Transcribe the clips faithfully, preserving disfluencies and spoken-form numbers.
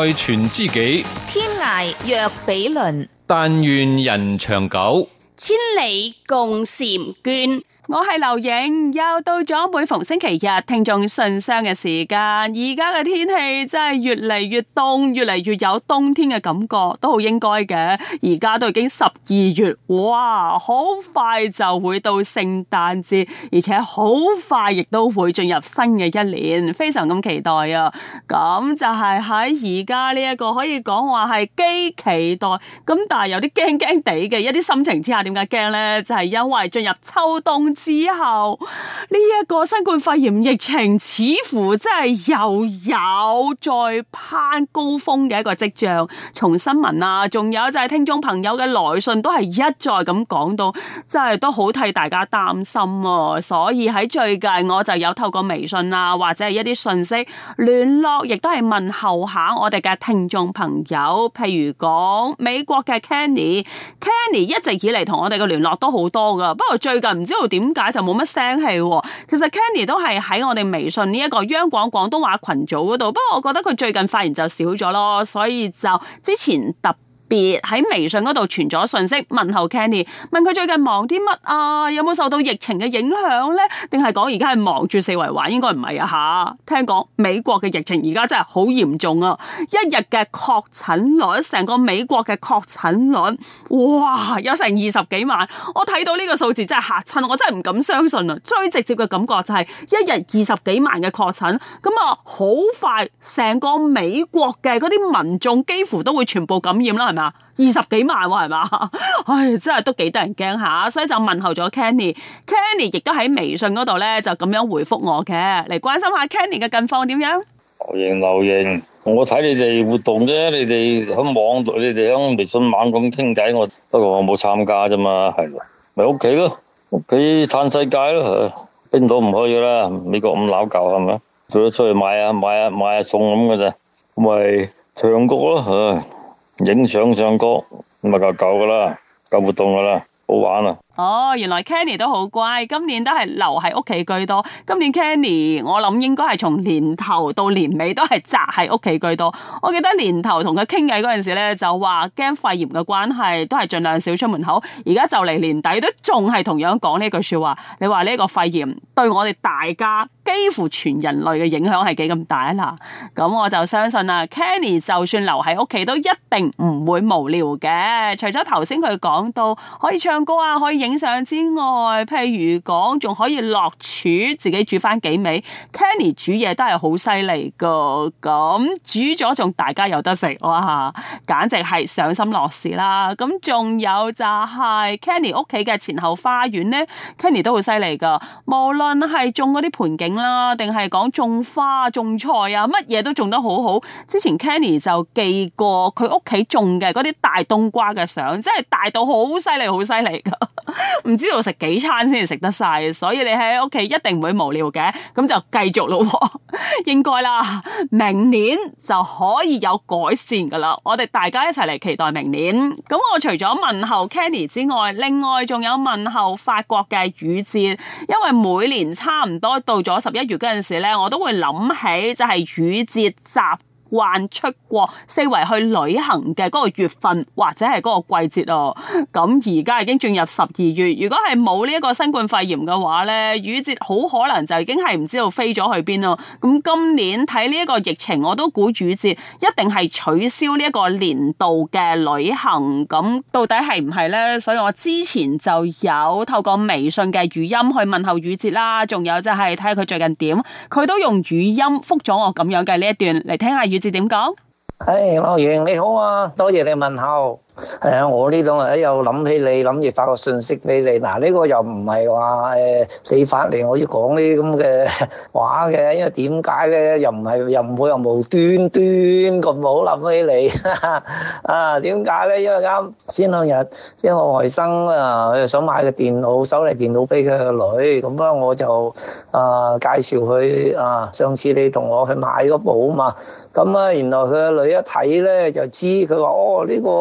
愛全知己， 天涯若比鄰， 但願人長久， 千里共嬋娟。 我係劉影，又到咗每逢星期日聽眾信箱嘅時間。而家嘅天氣真係越嚟越凍，越嚟越有冬天嘅感覺，都好應該嘅。而家都已經十二月，哇，好快就會到聖誕節，而且好快亦都會進入新嘅一年，非常咁期待啊！咁就係喺而家呢一個可以講話係既期待，咁但係有啲驚驚地嘅一啲心情之下，點解驚呢？就係因為進入秋冬之後，呢一個新冠肺炎疫情似乎真係又有再攀高峰嘅一個跡象。從新聞啊，仲有就係聽眾朋友嘅來信都係一再咁講到，真係都好替大家擔心啊！所以喺最近我就有透過微信啊，或者係一啲信息聯絡，亦都係問候下我哋嘅聽眾朋友。譬如講美國嘅 Kenny，Kenny 一直以嚟同我哋嘅聯絡都好多噶，不過最近唔知道點。點解就冇乜聲氣？其實 Kenny 都係喺我哋微信呢一個央廣廣東話群組嗰度，不過我覺得佢最近發言就少咗咯，所以就之前特別喺微信嗰度傳咗信息問候 Kenny， 問佢最近忙啲乜啊？有冇受到疫情嘅影響呢？定係講而家係忙住四圍玩？應該唔係啊吓！聽講美國嘅疫情而家真係好嚴重啊！一日嘅確診率，成個美國嘅確診率，哇，有成二十幾萬！我睇到呢個數字真係嚇親，我真係唔敢相信啊！最直接嘅感覺就係一日二十幾萬嘅確診，咁啊好快成個美國嘅嗰啲民眾幾乎都會全部感染啦，係咪？二十幾萬喎，係嘛？唉，真係都幾得人驚下，所以就問候咗 Kenny。Kenny 亦都喺微信嗰度咧，就咁樣回覆我嘅，嚟關心下 Kenny 嘅近況點樣。 劉瑩，劉瑩，我睇你哋活動啫，你哋喺網度，你哋喺微信網咁傾偈，我不過我冇參加啫嘛，係咯，咪屋企咯，屋企嘆世界咯，邊度唔可以啦？美國咁鬧交係咪？做咗出去買下買下買下餸咁嘅啫，咪唱歌咯，唉。影相唱歌咁咪夠夠噶啦，夠活動噶啦，好玩啊！ 哦，原來 Kenny 都好乖，今年都係留喺屋企居多。今年 Kenny 我諗應該係從年頭到年尾都係宅喺屋企居多。我記得年頭同佢傾偈嗰陣時咧，就話驚肺炎嘅關係，都係盡量少出門口。而家就嚟年底都仲係同樣講呢句說話。你話呢個肺炎對我哋大家幾乎全人類嘅影響係幾咁大啊？嗱，咁我就相信啦 ，Kenny 就算留喺屋企都一定唔會無聊嘅。除咗頭先佢講到可以唱歌啊，可以影相之外，譬如講仲可以落廚自己煮翻幾味。Kenny 煮嘢都係好犀利噶，咁煮咗仲大家有得食，哇！簡直係賞心樂事啦。咁仲有就係 Kenny 屋企嘅前後花園呢 Kenny 都好犀利噶。無論係種嗰啲盆景啦，定係講種花、種菜啊，乜嘢都種得好好。之前 Kenny 就寄過佢屋企種嘅嗰啲大冬瓜嘅相，真係大到好犀利，好犀利噶。唔知道食幾餐先至食得晒，所以你喺屋企一定唔會無聊嘅，咁就繼續咯，應該啦，明年就可以有改善噶啦，我哋大家一齊嚟期待明年。咁我除咗問候 Kenny 之外，另外仲有問候法國嘅雨節，因為每年差唔多到咗十一月嗰陣時咧，我都會諗起就係雨節集慣出國四圍去旅行嘅嗰個月份或者係嗰個季節哦。咁而家已經進入十二月，如果係冇呢一個新冠肺炎嘅話呢，雨節好可能就已經係唔知道飛咗去邊咯。咁今年睇呢一個疫情，我都估雨節一定係取消呢一個年度嘅旅行。咁到底係唔係呢？所以我之前就有透過微信嘅語音去問候雨節啦，仲有就係睇下佢最近點，佢都用語音覆咗我咁樣嘅呢一段嚟聽下雨節點講。 誒，劉瑩你好啊，多謝你問候。係啊，我呢度誒又諗起你，諗住發個信息俾你。嗱，呢個又唔係話誒你發嚟我要講呢啲咁嘅話嘅，因為點解咧？又唔係又唔會又無端端咁好諗起你啊？點解咧？因為啱先兩日即係我外甥啊，佢想買個電腦，手提電腦俾佢個女，咁啊我就啊介紹佢啊，上次你同我去買嗰部啊嘛，咁啊原來佢個女一睇咧就知，佢話哦呢個。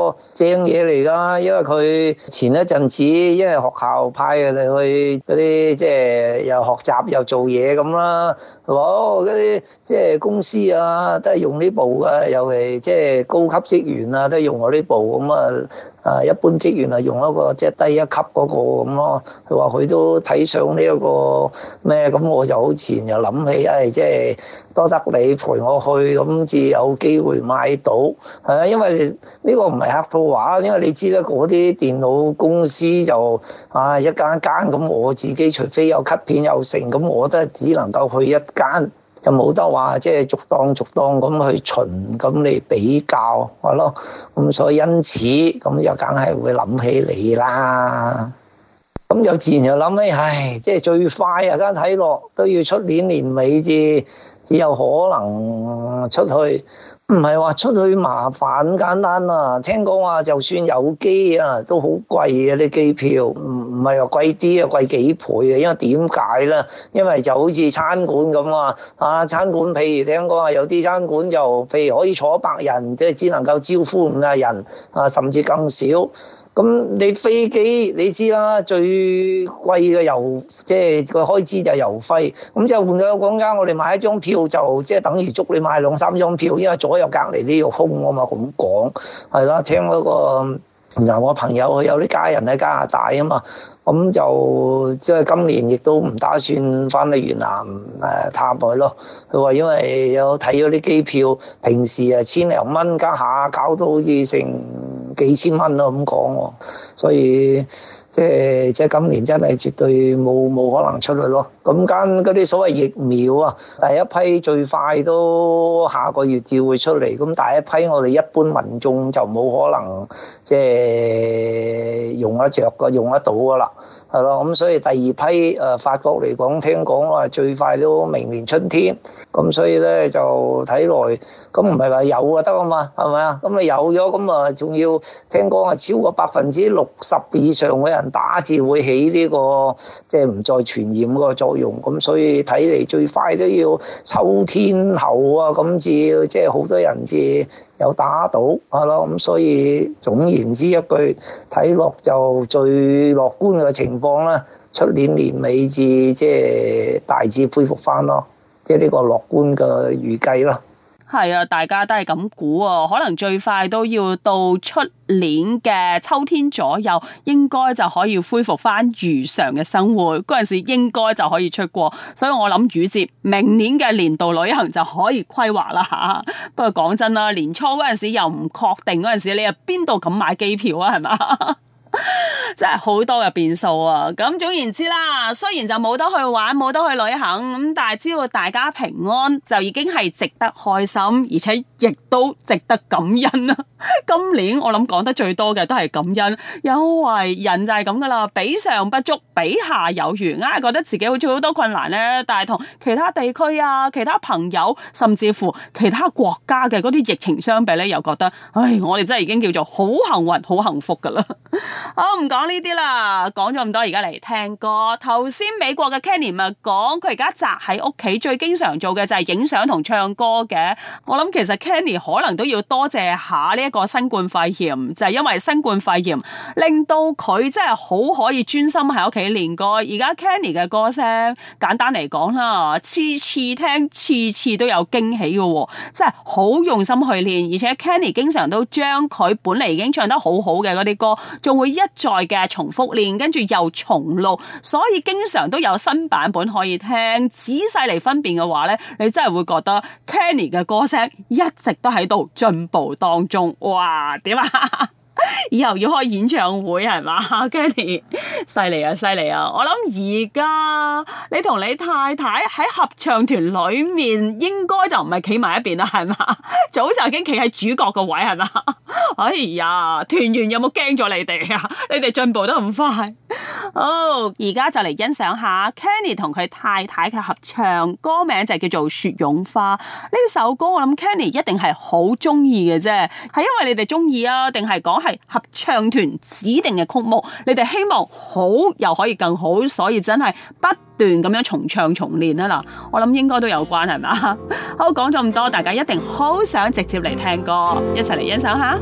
正嘢嚟噶，因為佢前一陣子因為學校派佢哋去嗰啲即係又學習又做嘢咁啦，係嘛？嗰啲即係公司啊都係用呢部啊，尤其即係高級職員啊都係用我呢部咁啊。啊，一般職員啊用一個即係低一級嗰個咁咯。佢話佢都睇上呢一個咩咁，我就好自然又諗起，誒即係多得你陪我去，咁至有機會買到係啊。因為呢個唔係客套話，因為你知啦，嗰啲電腦公司就啊一間一間咁，我自己除非有 cut 片有成，咁我都係只能夠去一間。就冇得話即係逐檔逐檔咁去巡咁嚟比較係咯，咁所以因此咁又梗係會諗起你啦。咁就自然就諗起，唉，即係最快啊！間睇落都要出年年尾至只有可能出去，唔係話出去麻煩咁簡單啊！聽講話就算有機啊，都好貴啊啲機票，唔唔係話貴啲啊，貴幾倍啊！因為點解咧？因為就好似餐館咁啊，啊餐館譬如聽講話有啲餐館就譬如可以坐百人，即係只能夠招呼五個人啊，甚至更少。咁你飛機你知啦，最貴嘅油即係個開支就係油費。咁就換咗講間，我哋買一張票就即係等於足你買兩三張票，因為左右隔離都要空啊嘛。咁講係啦，聽嗰個嗱我朋友佢有啲家人喺加拿大啊嘛，咁就即係今年亦都唔打算翻去越南誒探佢咯。佢話因為有睇咗啲機票，平時啊千零蚊，家下搞到好似成幾千蚊咯咁講喎，所以即係即係今年真係絕對冇冇可能出去咯。咁間嗰啲所謂疫苗啊，第一批最快都下個月至會出嚟，咁第一批我哋一般民眾就冇可能即係用得着個用得到噶啦，係咯。咁所以第二批誒法國嚟講，聽講話最快都明年春天，咁所以咧就睇來咁唔係話有就得啊嘛，係咪啊？咁你有咗咁啊，仲要聽講係超過百分之六十以上嘅人打至會起呢個即係唔再傳染嗰個作用，咁所以睇嚟最快都要秋天後啊，咁至即係好多人至有打到係咯。咁所以總言之一句，睇落就最樂觀嘅情況啦，出年年尾至即係大致恢復翻咯，即係呢個樂觀嘅預計咯。 係啊，大家都係咁估啊，可能最快都要到出年嘅秋天左右，應該就可以恢復翻如常嘅生活。嗰陣時應該就可以出國，所以我諗雨節明年嘅年度旅行就可以規劃啦吓。不過講真啦，年初嗰陣時又唔確定，嗰陣時你又邊度敢買機票啊？係嘛？真係好多嘅變數啊！咁總言之啦，雖然就冇得去玩，冇得去旅行咁，但係只要大家平安，就已經係值得開心，而且亦都值得感恩啦。今年我諗講得最多嘅都係感恩，因為人就係咁噶啦，比上不足，比下有餘，硬係覺得自己好似好多困難咧，但係同其他地區啊、其他朋友，甚至乎其他國家嘅嗰啲疫情相比咧，又覺得，唉，我哋真係已經叫做好幸運、好幸福噶啦。好，唔講呢啲啦，講咗咁多，而家嚟聽歌。頭先美國嘅 Kenny 咪講，佢而家宅喺屋企，最經常做嘅就係影相同唱歌嘅。我諗其實 Kenny 可能都要多謝下呢一個新冠肺炎，就係因為新冠肺炎令到佢真係好可以專心喺屋企練歌。而家 Kenny 嘅歌聲，簡單嚟講啦，次次聽，次次都有驚喜嘅，真係好用心去練。而且 Kenny 經常都將佢本嚟已經唱得好好嘅嗰啲歌，仲會一再嘅重複練，跟住又重錄，所以經常都有新版本可以聽。仔細嚟分辨嘅話呢，你真係會覺得 Kenny 嘅歌聲一直都喺度進步當中。哇，點啊？以後要開演唱會係嘛 Kenny 犀利啊犀利啊！我諗而家你同你太太喺合唱團裏面應該就唔係企埋一邊啦，係嘛？早就已經企喺主角個位係嘛？哎呀，團員有冇驚咗你哋啊？你哋進步得咁快。好，而家就嚟欣賞下 Kenny 同佢太太嘅合唱，歌名就叫做《雪絨花》。呢首歌我諗 Kenny 一定係好中意嘅啫，係因為你哋中意啊，定係講係合唱團指定嘅曲目，你哋希望好又可以更好，所以真係不斷咁樣重唱重練啊嗱，我諗應該都有關係嘛。好，講咗咁多，大家一定好想直接嚟聽歌，一齊嚟欣賞下。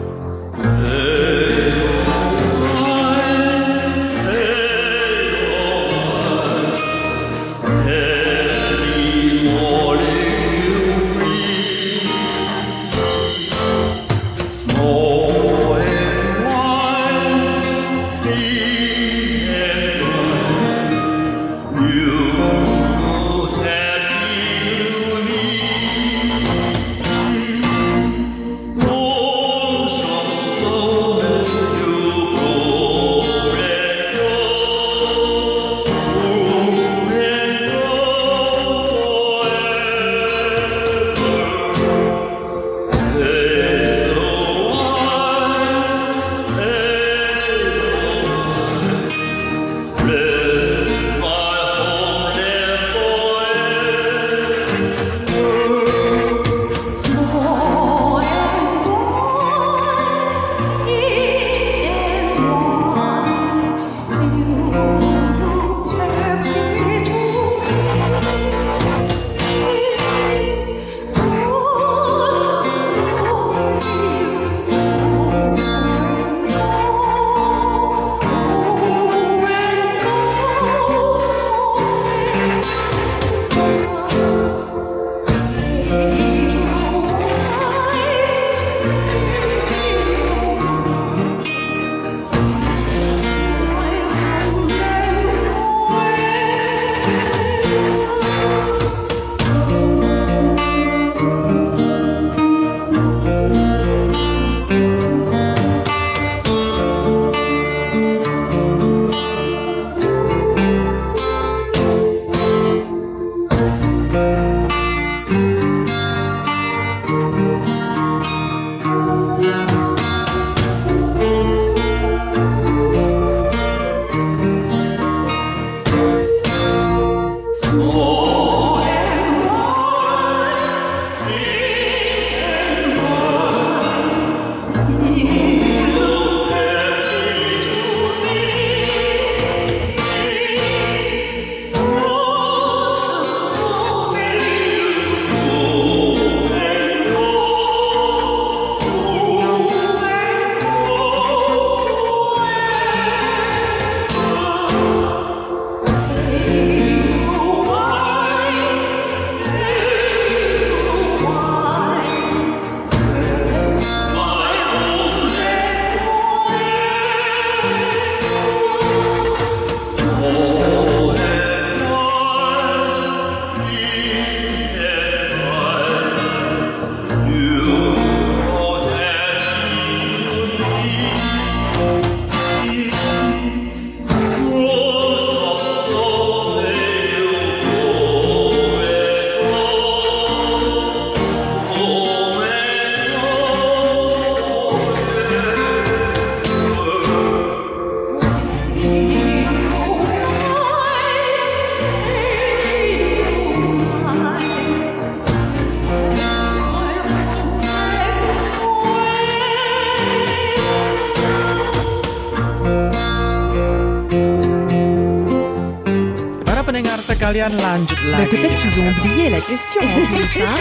Sekalian lanjut lagi. Peut-être qu'ils ont oublié la question en plus, hein?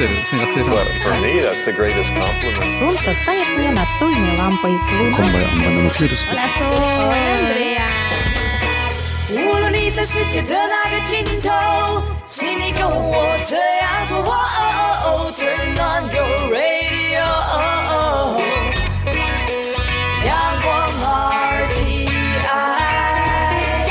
For me, that's the greatest compliment. Солнце стоит мне над стольной лампой. Hola, Sol. Andrea. 无论你在世界的哪个尽头，请你跟我这样做。Turn on your radio， 阳光 R T I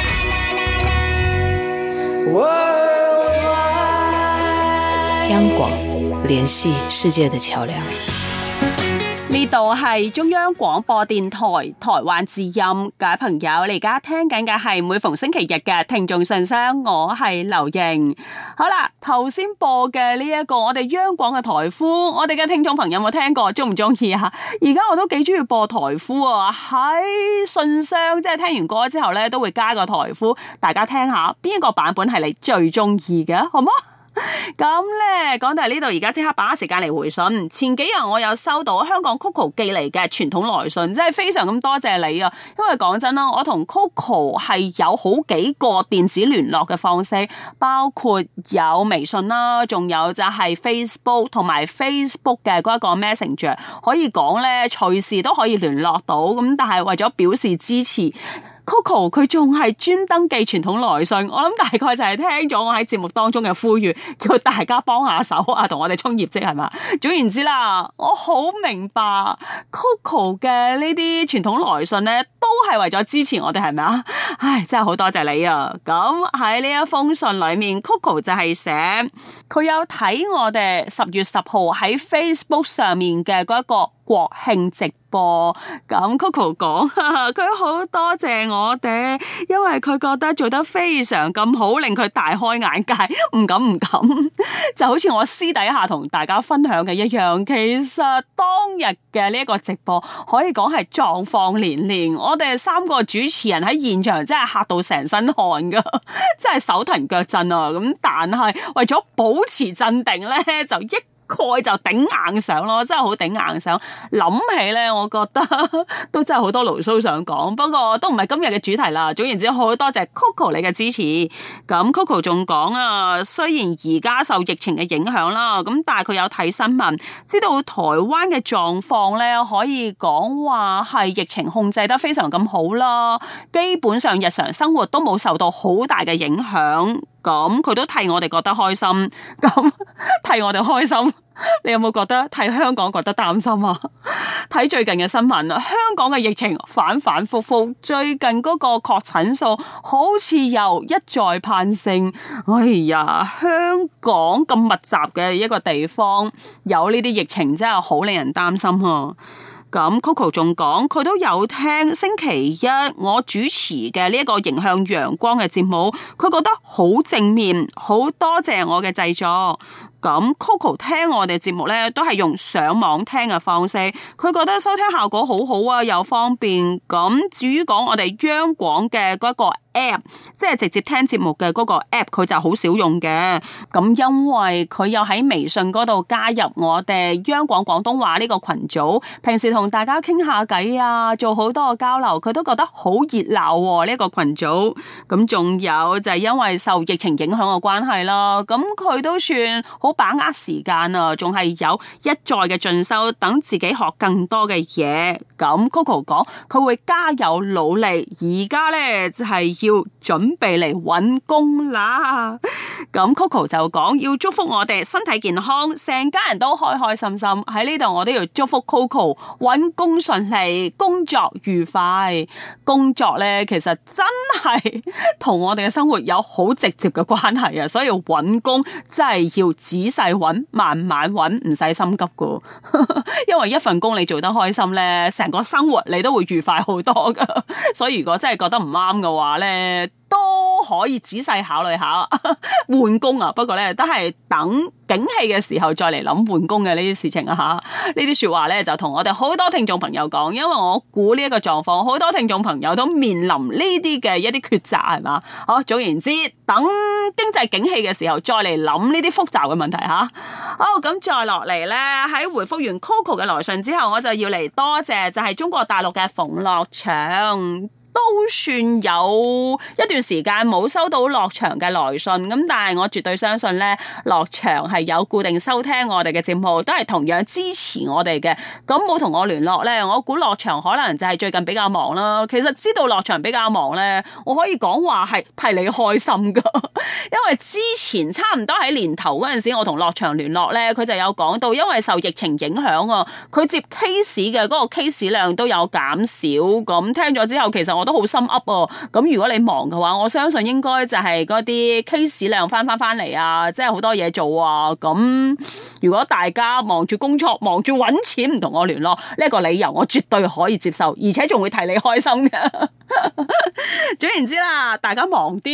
Worldwide， 央廣聯繫世界的橋梁。 呢度係中央廣播電台台灣之音，各位朋友，你而家聽緊嘅係每逢星期日嘅聽眾信箱，我係劉瑩。好啦，頭先播嘅呢一個我哋央廣嘅台呼，我哋嘅聽眾朋友有冇聽過？中唔中意啊？而家我都幾中意播台呼啊！喺信箱即係聽完歌之後咧，都會加個台呼，大家聽下邊一個版本係你最中意嘅，好唔好？ 咁咧講到嚟呢度，而家即刻把握時間嚟回信。前幾日我有收到香港 Coco 寄嚟嘅傳統來信，真係非常咁多謝你啊！因為講真啦，我同 Coco 係有好幾個電子聯絡嘅方式，包括有微信啦，仲有就係 Facebook 同埋 Facebook 嘅嗰一個 Messenger， 可以講咧隨時都可以聯絡到。咁但係為咗表示支持，Coco 佢仲係專登寄傳統來信，我諗大概就係聽咗我喺節目當中嘅呼籲，叫大家幫下手啊，同我哋衝業績係嘛。總言之啦，我好明白 Coco 嘅呢啲傳統來信咧，都係為咗支持我哋係咪啊？唉，真係好多謝你啊！咁喺呢一封信裏面 ，Coco 就係寫佢有睇我哋十月十號喺 Facebook 上面嘅嗰一個國慶直播，咁 Coco 講佢好多謝我哋，因為佢覺得做得非常咁好，令佢大開眼界，唔敢唔敢，就好似我私底下同大家分享嘅一樣。其實當日嘅呢一個直播可以講係狀況連連，我哋三個主持人喺現場真係嚇到成身汗噶，真係手騰腳震啊！咁但係為咗保持鎮定咧，就一概就頂硬上咯，真係好頂硬上。諗起咧，我覺得都真係好多牢騷想講，不過都唔係今日嘅主題啦。總言之，好多謝 Coco 你嘅支持。咁 Coco 仲講啊，雖然而家受疫情嘅影響啦，咁但係佢有睇新聞，知道台灣嘅狀況咧，可以講話係疫情控制得非常咁好啦，基本上日常生活都冇受到好大嘅影響。咁佢都替我哋覺得開心，咁替我哋開心，你有冇覺得替香港覺得擔心啊？睇最近嘅新聞，香港嘅疫情反反复复，最近嗰個確診數好似又一再攀升。哎呀，香港咁密集嘅一個地方，有呢啲疫情真係好令人擔心啊！咁 Coco 仲講，佢都有聽星期一我主持嘅呢一個迎向陽光嘅節目，佢覺得好正面，好多謝我嘅製作。咁 Coco 聽我哋節目咧，都係用上網聽嘅方式，佢覺得收聽效果好好啊，又方便。咁至於講我哋央廣嘅嗰個 app， 即係直接聽節目嘅嗰個 app， 佢就好少用嘅。咁因為佢有喺微信嗰度加入我哋央廣廣東話呢個群組，平時同大家傾下偈啊，做好多個交流，佢都覺得好熱鬧呢個群組。咁仲有就係因為受疫情影響嘅關係啦，咁佢都算好把握時間啊，仲係有一再嘅進修，等自己學更多嘅嘢。咁 Coco 講佢會加油努力，而家咧就係要準備嚟揾工啦。咁 Coco 就講要祝福我哋身體健康，成家人都開開心心。喺呢度我都要祝福 Coco 揾工順利，工作愉快。工作咧其實真係同我哋嘅生活有好直接嘅關係啊，所以揾工真係要仔細揾，慢慢揾，唔使心急噶。因為一份工你做得開心咧，成個生活你都會愉快好多噶。所以如果真係覺得唔啱嘅話咧，都可以仔細考慮下換工啊。不過咧，都係等景氣嘅時候再嚟諗換工嘅呢啲事情啊。吓，呢啲說話咧就同我哋好多聽眾朋友講，因為我估呢一個狀況，好多聽眾朋友都面臨呢啲嘅一啲抉擇，係嘛？好，總言之，等經濟景氣嘅時候再嚟諗呢啲複雜嘅問題吓。好，咁再落嚟咧，喺回覆完 Coco 嘅來信之後，我就要嚟多謝就係中國大陸嘅馮樂祥。都算有一段時間冇收到樂祥嘅來信，咁但係我絕對相信咧，樂祥係有固定收聽我哋嘅節目，都係同樣支持我哋嘅。咁冇同我聯絡咧，我估樂祥可能就係最近比較忙啦。其實知道樂祥比較忙咧，我可以講話係替你開心噶，因為之前差唔多喺年頭嗰陣時，我同樂祥聯絡咧，佢就有講到，因為受疫情影響啊，佢接 case 嘅嗰個 case 量都有減少。咁聽咗之後，其實我都好心噏哦，咁如果你忙嘅話，我相信應該就係嗰啲 case 量翻翻翻嚟啊，即係好多嘢做啊。咁如果大家忙住工作、忙住搵錢唔同我聯絡，呢一個理由我絕對可以接受，而且仲會替你開心嘅。總言之啦，大家忙啲。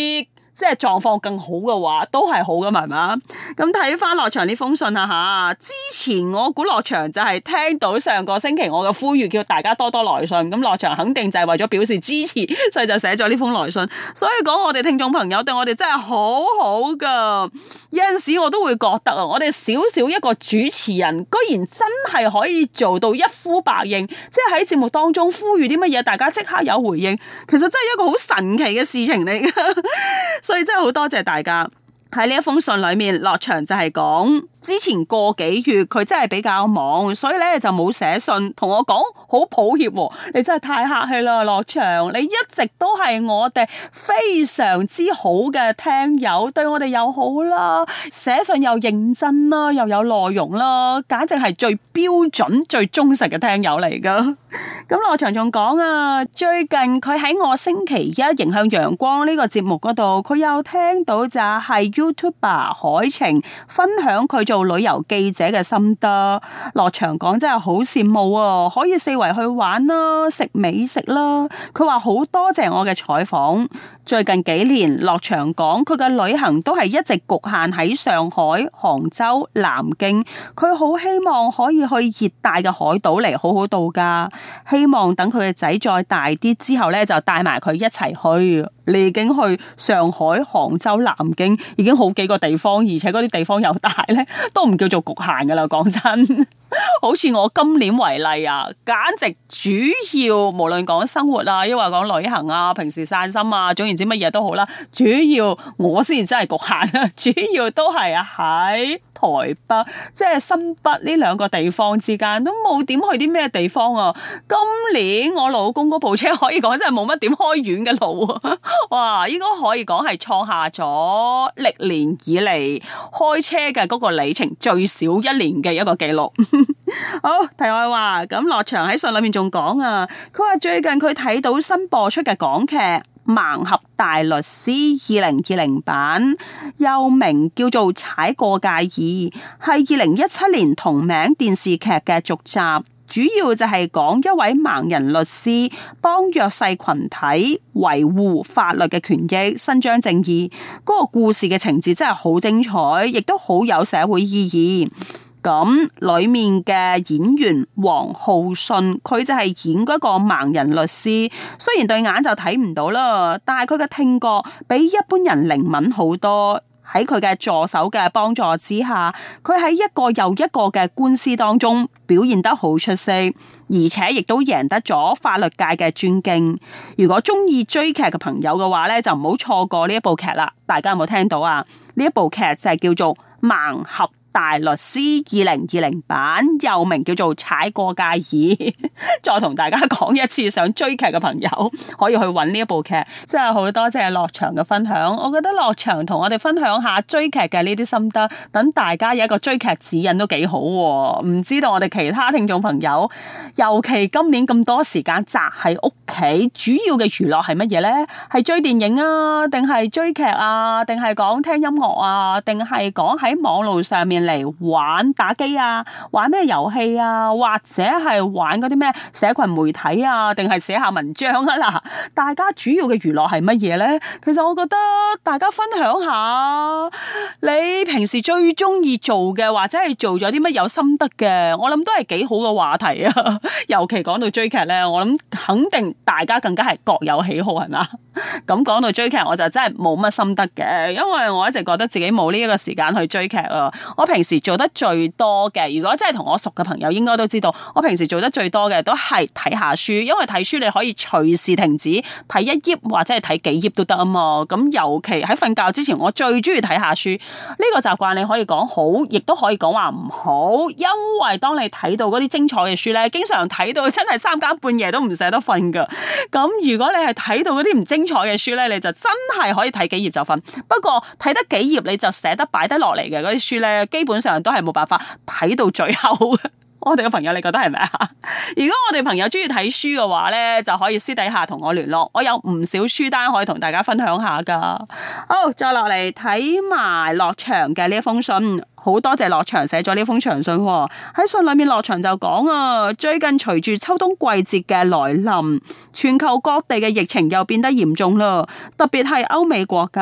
即係狀況更好嘅話，都係好嘅，係嘛？咁睇翻樂祥呢封信啊吓，之前我估樂祥就係聽到上個星期我嘅呼籲，叫大家多多來信，咁樂祥肯定就係為咗表示支持，所以就寫咗呢封來信。所以講我哋聽眾朋友對我哋真係好好噶，有陣時我都會覺得啊，我哋少少一個主持人，居然真係可以做到一呼百應，即係喺節目當中呼籲啲乜嘢，大家即刻有回應，其實真係一個好神奇嘅事情嚟噶。所以真係好多謝大家。喺呢一封信裏面，樂祥就係講之前個幾月佢真係比較忙，所以咧就冇寫信同我講，好抱歉喎，你真係太客氣啦，樂祥，你一直都係我哋非常之好嘅聽友，對我哋又好啦，寫信又認真啦，又有內容啦，簡直係最標準最忠實嘅聽友嚟噶。咁樂祥仲講啊，最近佢喺我星期一迎向陽光呢個節目嗰度，佢有聽到就係 YouTuber 海晴分享佢做旅遊記者嘅心得。樂祥講真係好羨慕啊，可以四圍去玩啦，食美食啦。佢話好多謝我嘅採訪。最近幾年，樂祥講佢嘅旅行都係一直局限喺上海、杭州、南京。佢好希望可以去熱帶嘅海島嚟好好度假。希望等佢嘅仔再大啲之後咧，就帶埋佢一齊去。你已經去上海、杭州、南京，已經好幾個地方，而且嗰啲地方又大咧，都唔叫做局限噶啦。講真，好似我今年為例啊，簡直主要無論講生活啊，抑或講旅行啊，平時散心啊，總言之乜嘢都好啦，主要我先真係局限啊，主要都係喺台北，即係新北呢兩個地方之間，都冇點去啲咩地方啊。今年我老公嗰部車可以講真係冇乜點開遠嘅路啊。哇，應該可以講係創下咗歷年以嚟開車嘅嗰個里程最少一年嘅一個記錄。好，題外話，咁樂祥喺信裏面仲講啊，佢話最近佢睇到新播出嘅港劇《盲俠大律師》二零二零版，又名叫做《踩過界二》，係二零一七年同名電視劇嘅續集。主要就係講一位盲人律師幫弱勢群體維護法律嘅權益，伸張正義。嗰個故事嘅情節真係好精彩，亦都好有社會意義。咁裏面嘅演員黃浩信，佢就係演嗰個盲人律師，雖然對眼就睇唔到啦，但係佢嘅聽覺比一般人靈敏好多。喺佢嘅助手嘅幫助之下，佢喺一個又一個嘅官司當中表現得好出色，而且亦都贏得咗法律界嘅尊敬。如果中意追劇嘅朋友嘅話咧，就唔好錯過呢一部劇啦。大家有冇聽到啊？呢一部劇就係叫做《盲俠大律師》二零二零版，又名叫做《踩過界二》。再同大家講一次，想追劇嘅朋友可以去揾呢一部劇。真係好多謝樂祥嘅分享。我覺得樂祥同我哋分享下追劇嘅呢啲心得，等大家有一個追劇指引都幾好。唔知道我哋其他聽眾朋友，尤其今年咁多時間宅喺屋企，主要嘅娛樂係乜嘢呢？係追電影啊，定係追劇啊，定係講聽音樂啊，定係講喺網路上面嚟玩打機啊，玩咩遊戲啊，或者係玩嗰啲咩社群媒體啊，定係寫下文章啊嗱，大家主要嘅娛樂係乜嘢呢？其實我覺得大家分享下你平時最中意做嘅，或者係做咗啲乜有心得嘅，我諗都係幾好嘅話題啊。尤其講到追劇呢，我諗肯定大家更加係各有喜好，係嘛？咁講到追劇，我就真係冇乜心得嘅，因為我一直覺得自己冇呢一個時間去追劇啊。我平時做得最多嘅，如果真係同我熟嘅朋友應該都知道，我平時做得最多嘅都係睇下書，因為睇書你可以隨時停止睇一頁或者係睇幾頁都得啊嘛。咁尤其喺瞓覺之前，我最中意睇下書。呢個習慣你可以講好，亦都可以講話唔好，因為當你睇到嗰啲精彩嘅書咧，經常睇到真係三更半夜都唔捨得瞓噶。咁如果你係睇到嗰啲唔精彩嘅書咧，你就真係可以睇幾頁就瞓。不過睇得幾頁你就捨得擺得落嚟嘅嗰啲書咧，基本上都係冇辦法睇到最後。我哋嘅朋友你覺得係咪啊？如果我哋朋友中意睇書嘅話咧，就可以私底下同我聯絡，我有唔少書單可以同大家分享下噶。好，再落嚟睇埋樂祥嘅呢一封信，好多謝樂祥寫咗呢封長信。喺信裏面樂祥就講啊，最近隨住秋冬季節嘅來臨，全球各地嘅疫情又變得嚴重啦，特別係歐美國家。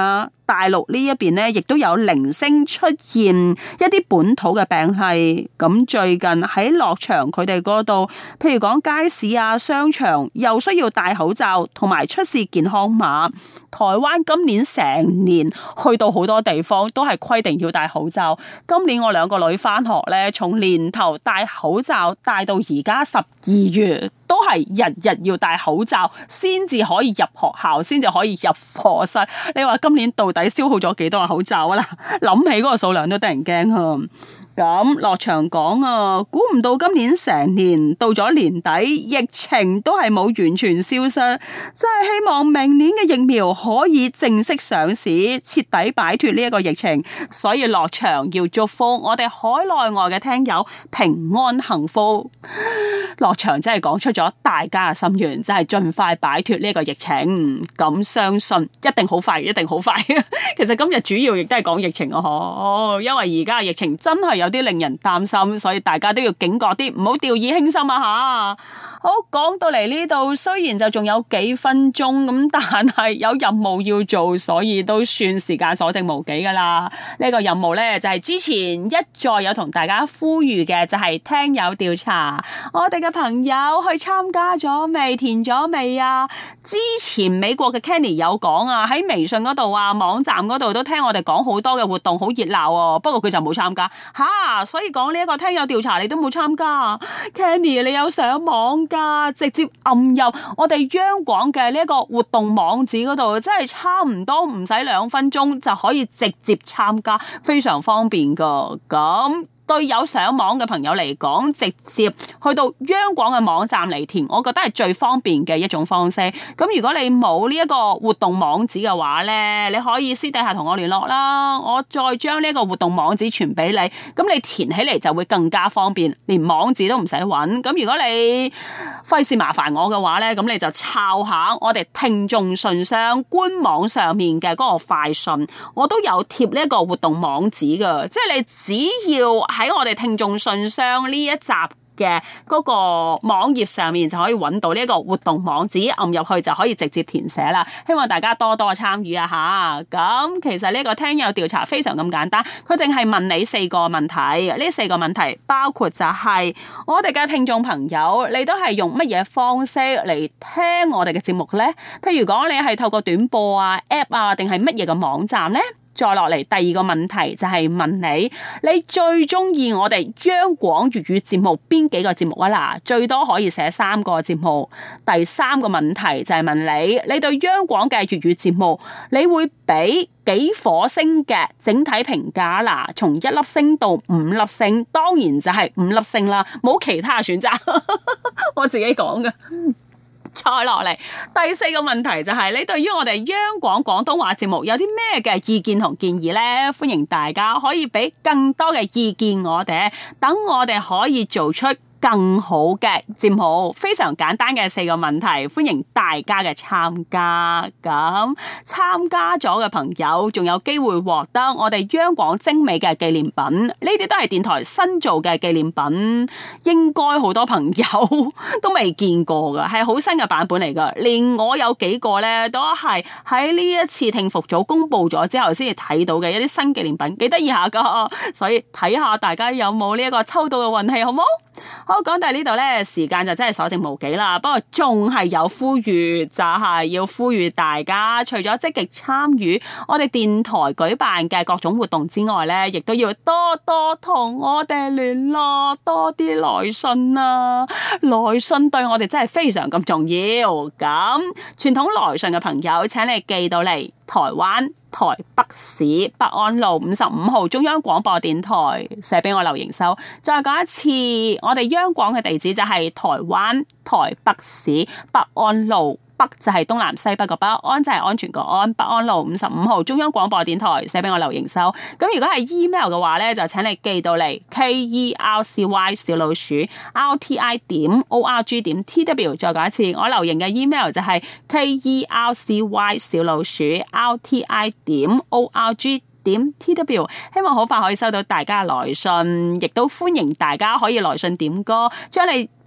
大陸呢一邊呢，亦都有零星出現一啲本土嘅病例。咁最近喺樂場佢哋嗰度，譬如講街市啊、商場，又需要戴口罩，同埋出示健康碼。台灣今年成年去到好多地方都係規定要戴口罩。今年我兩個女返學呢，從年頭戴口罩戴到而家十二月。都係日日要戴口罩先至可以入學校，先至可以入課室。你話今年到底消耗咗幾多個口罩啊？啦，諗起嗰個數量都得人驚啊！咁樂場講啊，估唔到今年成年到咗年底，疫情都係冇完全消失，真係希望明年嘅疫苗可以正式上市，徹底擺脫呢一個疫情。所以樂場要祝福我哋海內外嘅聽友平安幸福。樂場真係講出咗大家嘅心願，就係盡快擺脫呢個疫情。咁相信一定好快，一定好快。其實今日主要亦都係講疫情啊，因為而家嘅疫情真係有啲令人擔心，所以大家都要警覺啲，唔好掉以輕心啊吓。好，講到嚟呢度，雖然就仲有幾分鐘咁，但係有任務要做，所以都算時間所剩無幾噶啦。呢個任務呢，就係之前一再有同大家呼籲嘅，就係聽友調查。我哋嘅朋友去參加咗未？填咗未啊？之前美國嘅 Kenny 有講啊，喺微信嗰度啊、網站嗰度都聽我哋講好多嘅活動，好熱鬧哦。不過佢就冇參加吓，所以講呢一個聽友調查你都冇參加。Kenny 你有上網噶，直接按入我哋央廣嘅呢一個活動網址嗰度，真係差唔多唔使兩分鐘就可以直接參加，非常方便噶。咁對有上網嘅朋友嚟講，直接去到央廣嘅網站嚟填，我覺得係最方便嘅一種方式。咁如果你冇呢一個活動網址嘅話呢，你可以私底下同我聯絡啦，我再將呢一個活動網址傳俾你，咁你填起嚟就會更加方便，連網址都唔使揾。咁如果你費事麻煩我嘅話呢，咁你就抄下我哋聽眾信箱官網上面嘅嗰個快訊，我都有貼呢一個活動網址㗎，即係你只要喺我哋聽眾信箱呢一集嘅嗰個網頁上面就可以揾到呢一個活動網址，按入去就可以直接填寫啦。希望大家多多參與啊吓！咁其實呢個聽友調查非常咁簡單，佢淨係問你四個問題，呢四個問題包括就係我哋嘅聽眾朋友，你都係用乜嘢方式嚟聽我哋嘅節目呢？譬如講你係透過短播啊、app 啊，定係乜嘢嘅網站呢？再落嚟第二個問題就係問你，你最中意我哋央廣粵語節目邊幾個節目啊？嗱，最多可以寫三個節目。第三個問題就係問你，你對央廣嘅粵語節目，你會俾幾顆星嘅整體評價啦？從一粒星到五粒星，當然就係五粒星啦，冇其他選擇。我自己講嘅。再落嚟第四個問題就係、是、你對於我哋央廣廣東話節目有啲咩嘅意見同建議呢？歡迎大家可以俾更多嘅意見我哋，等我哋可以做出更好嘅節目。非常簡單嘅四個問題，歡迎大家嘅參加。咁參加咗嘅朋友仲有機會獲得我哋央廣精美嘅紀念品，呢啲都係電台新做嘅紀念品，應該好多朋友都未見過噶，係好新嘅版本嚟噶。連我有幾個呢，都係喺呢一次聽服組公布咗之後先至睇到嘅一啲新紀念品，幾得意下噶。所以睇下大家有冇呢一個抽到嘅運氣，好冇？好，講到呢度呢，時間就真係所剩無幾啦。不過仲係有呼籲，就係要呼籲大家，除咗積極參與我哋電台舉辦嘅各種活動之外呢，亦都要多多同我哋聯絡，多啲來信啊！來信對我哋真係非常咁重要。咁傳統來信嘅朋友，請你寄到嚟台灣台北市北安路五十五號中央廣播電台，寫俾我劉瑩收。再講一次，我哋央廣嘅地址就係台灣台北市北安路，北就係東南西北個北，安就係安全個安，北安路五十五號中央廣播電台，寫俾我劉瑩收。咁如果係 email 嘅話咧，就請你寄到嚟 k e r c y 小老鼠 r t i 點 o r g 點 t w。再講一次，我劉瑩嘅 email 就係 k e r c y 小老鼠 r t i 點 o r g 點 t w。希望好快可以收到大家嘅來信，亦都歡迎大家可以來信點歌，將你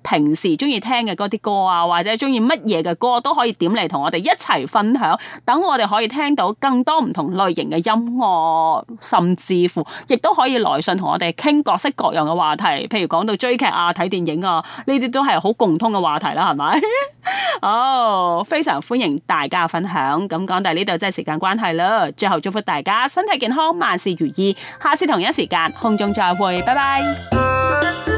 平時中意聽嘅嗰啲歌啊，或者中意乜嘢嘅歌都可以點嚟同我哋一齊分享，等我哋可以聽到更多唔同類型嘅音樂，甚至乎亦都可以來信同我哋傾各式各樣嘅話題，譬如講到追劇啊、睇電影啊，呢啲都係好共通嘅話題啦，係咪？哦，oh, 非常歡迎大家分享。咁講到呢度真係時間關係啦，最後祝福大家身體健康，萬事如意。下次同一時間空中再會，拜拜。